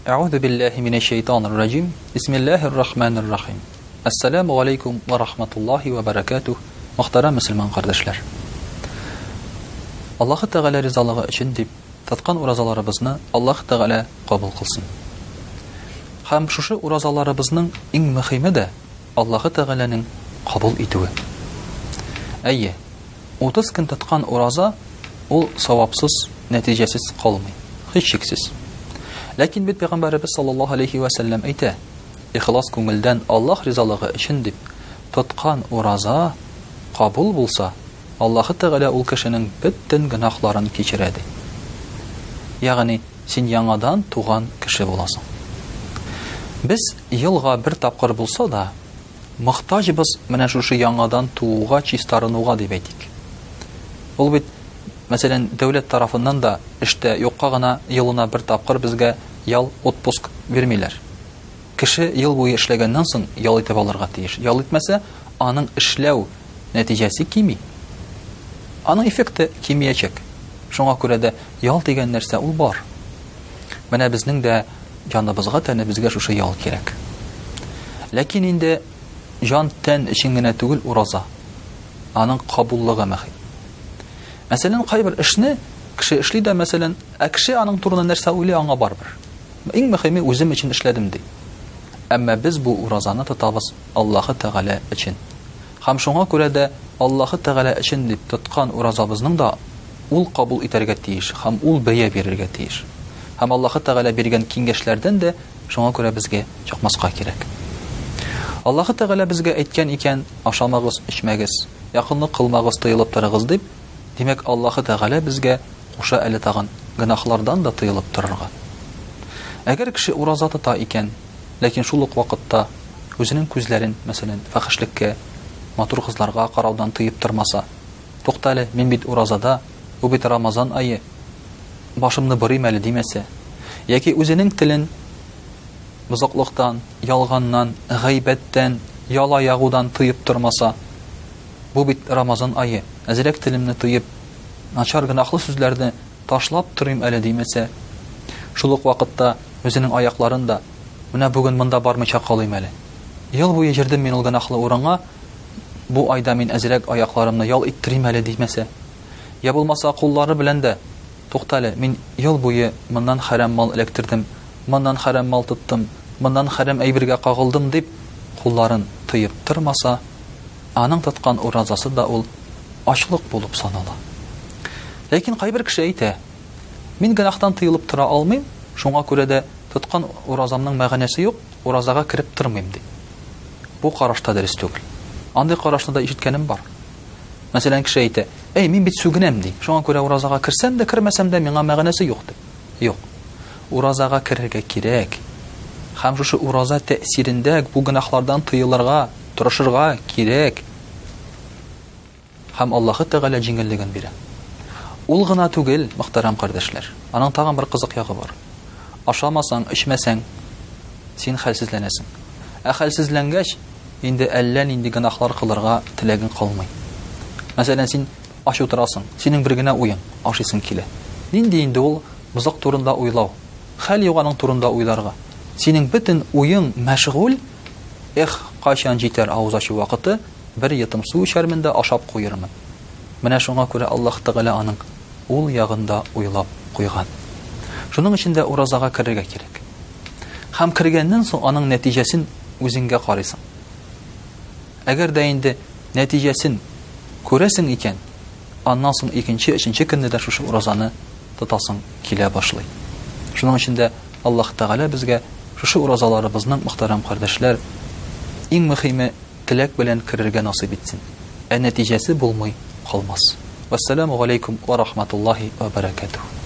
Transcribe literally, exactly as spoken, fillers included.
А'удhu billahi minash shaytanir rajim. Bismillahir rahmanir rahim. Assalamu alaykum wa rahmatullohi wa barakatuh. Muhtaram musulmon qardoshlar. Alloh Taala rizoligi uchun deb tatqan urazalarimizning Alloh Taala qabul qilsin. Ham shu urazalarimizning eng muhimi de Alloh Taalaning qabul etuvi. Ayye, o'ttiz kun tatqan uraza ul savobsiz, natijasiz qolmay, hech cheksiz. Lakin bit Peygamberimiz sallallohu alayhi va sallam ayta, ixlos ko'ngildan Alloh rizoligi uchun deb tatqan uraza qabul bo'lsa, Alloh Taala ul kishining bütün gunohlarini kechiradi. Ya'ni sen yangadan tug'an kishi bo'lasan. Biz yilga bir taqir bo'lsa da, muhtoj biz mana shu yangadan tug'uga chistarunuga deb aytik. Ул бит Мәсәлән, дәүләт тарафыннан да эштә юкка гына елына бер тапкыр безгә ял отпуск бирмиләр. Кеше ел буе эшләгәннән соң ял итеп алырга тиеш. Ял итмәсә, аның эшләү нәтиҗәсе кими. Аның эффекты кимиячәк. Шуңа күрә дә ял дигән нәрсә ул бар. Менә безнең дә җаныбызга, тәнебезгә шушы ял кирәк. Ләкин инде җан тән өчен генә түгел ураза. Аның кабуллыгы мөһим. Мәсәлән, кайбер эшне кеше эшли дә, мәсәлән, ә кеше аның турында нәрсә уйлый, аңа барбыр. Иң мөһиме үзем өчен эшләдем ди. Әмма без бу уразаны тотабыз Аллаһ Тәгалә өчен. Һәм шуңа күрә дә Аллаһ Тәгалә өчен дип тоткан уразабызның да ул кабул итәргә тиеш, һәм ул бәя бирергә тиеш. Һәм Аллаһ Тәгалә биргән киңәшләрдән дә шуңа күрә безгә чакмаска кирәк. Аллаһ Тәгалә безгә әйткән икән: ашамагыз, эчмәгез, якынлык кылмагыз, тыелып торыгыз дип. Димәк, Аллаһ Тәгалә безгә куша әле тагын гынаһлардан да тыелып торырга. Әгәр кеше ураза тота икән, ләкин шул ук вакытта үзенең күзләрен, мәсәлән, фахишлеккә, матур кызларга караудан тыеп тормаса, туктале, мин бит уразада, бу бит Рамазан айы, башымны бырыйм әле димәсә, яки үзенең телен бузыклыктан, ялганнан, гайбәттән, яла ягудан тыеп тормаса, бу бит Рамазан айы, әзрәк телемне тыеп, начар гынаһлы сүзләрне ташлап торыйм әле димәсә, шул ук вакытта үзенең аякларын да, менә бүген монда бармыйча калыйм әле. Ел буе җирдем мин ул гынаһлы урынга, бу айда мин әзрәк аякларымны ял иттерим әле димәсә, я булмаса куллары белән дә, туктале, мин ел буе моннан харам мал эләктердем, моннан харам мал тоттым, моннан харам әйбергә кагылдым дип, кулларын тыеп тормаса, аның тоткан уразасы да ул ачлык булып санала. Ләкин кайбер кеше әйтә: мин гынаһтан тыелып тора алмыйм, шуңа күрә дә тоткан уразамның мәгънәсе юк, уразага кирип тормыйм ди. Бу карашта дөрес түгел. Андый карашны да ишеткәнем бар. Мәсәлән, кеше әйтә: "Эй, мин бит сүгенәм ди. Шуңа күрә уразага кирсәм дә, кирмәсәм дә миңа мәгънәсе юк" ди. Юк. Уразага кирергә кирәк. Һәм шушы ураза тәэсирендә бу гынаһлардан тыелырга, тырышырга кирәк. Һәм Аллаһ Тәгалә җиңеллеген бирә. Ул гына түгел, мөхтәрәм кардәшләр. Аның тагын бер кызык ягы бар. Ашамасаң, эчмәсәң, син хәлсезләнәсең. Ә хәлсезләнгәч, инде әллә нинди гынаһлар кылырга теләгең калмый. Мәсәлән, син аш утырасың, синең бер генә уең, ашыйсың килә. Нинди инде ул бузык турында уйлау, хәл юганың турында уйларга. Синең бөтен уең мәшгуль, эх, кайчан җитәр авыз ачу вакыты, бер йотым су эчәрмен дә ашап куермын. Менә шуңа күрә Аллаһ Тәгалә аның ул ягында уйлап куйган. Шуның өчен дә уразага кирергә кирәк. Һәм кергәннән соң аның нәтиҗәсен үзеңгә карыйсың. Әгәр дә инде нәтиҗәсен күрәсең икән, аннан соң икенче, өченче көнне дә шушы уразаны тотасың килә башлый. Шуның өчен дә Аллаһ Тәгалә безгә шушы уразаларыбызның, мөхтәрәм кардәшләр, иң мөһиме теләк белән кирергә насыйп итсен. Ә нәтиҗәсе булмый калмас. Вассаламу алейкум ва рахматуллаһи ва баракатуһ.